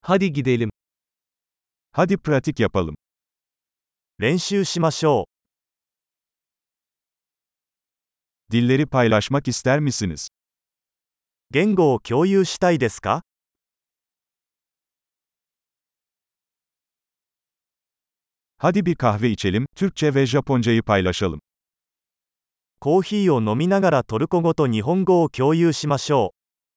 Hadi gidelim. Hadi pratik yapalım. 練習しましょ Dilleri paylaşmak ister misiniz? う。言語を共有したいですか？ Hadi bir kahve içelim, Türkçe ve Japoncayı paylaşalım. コーヒーを飲みながらトルコ語と日本語を共有しましょ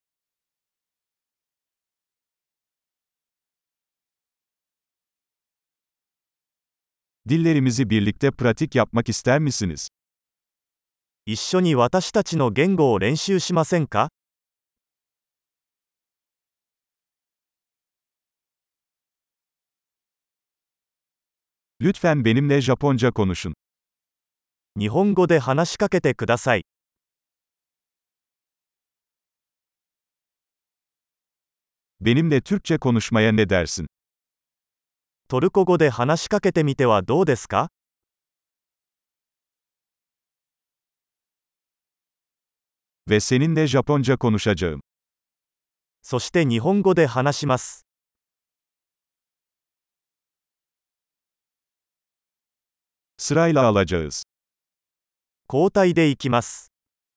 Dillerimizi birlikte pratik yapmak ister misiniz? う。一緒に私たちの言語を練習しませんか？ Lütfen benimle Japonca konuşun. 日本語で話しかけてください。 Benimle Türkçe konuşmaya ne dersin? トルコ語で話しかけてみてはどうですか？ Ve seninle Japonca konuşacağım. そして日本語で話します。 Sırayla alacağız. 交代でいきます。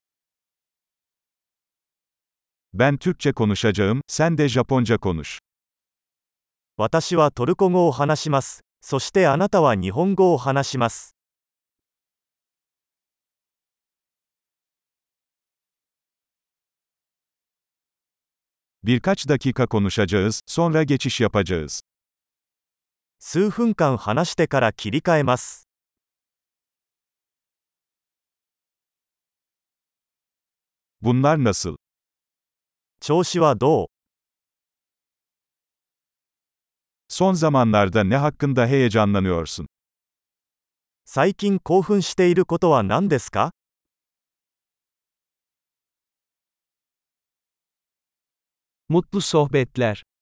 Ben Türkçe konuşacağım, sen de Japonca konuş. 私はトルコ語を話します。そしてあなたは日本語を話します。 Birkaç dakika konuşacağız, sonra geçiş yapacağız. 数分間話してから切り替えます。 Bunlar nasıl? 調子はどう？ Son zamanlarda ne hakkında heyecanlanıyorsun? 最近興奮していることは何ですか？ Mutlu sohbetler.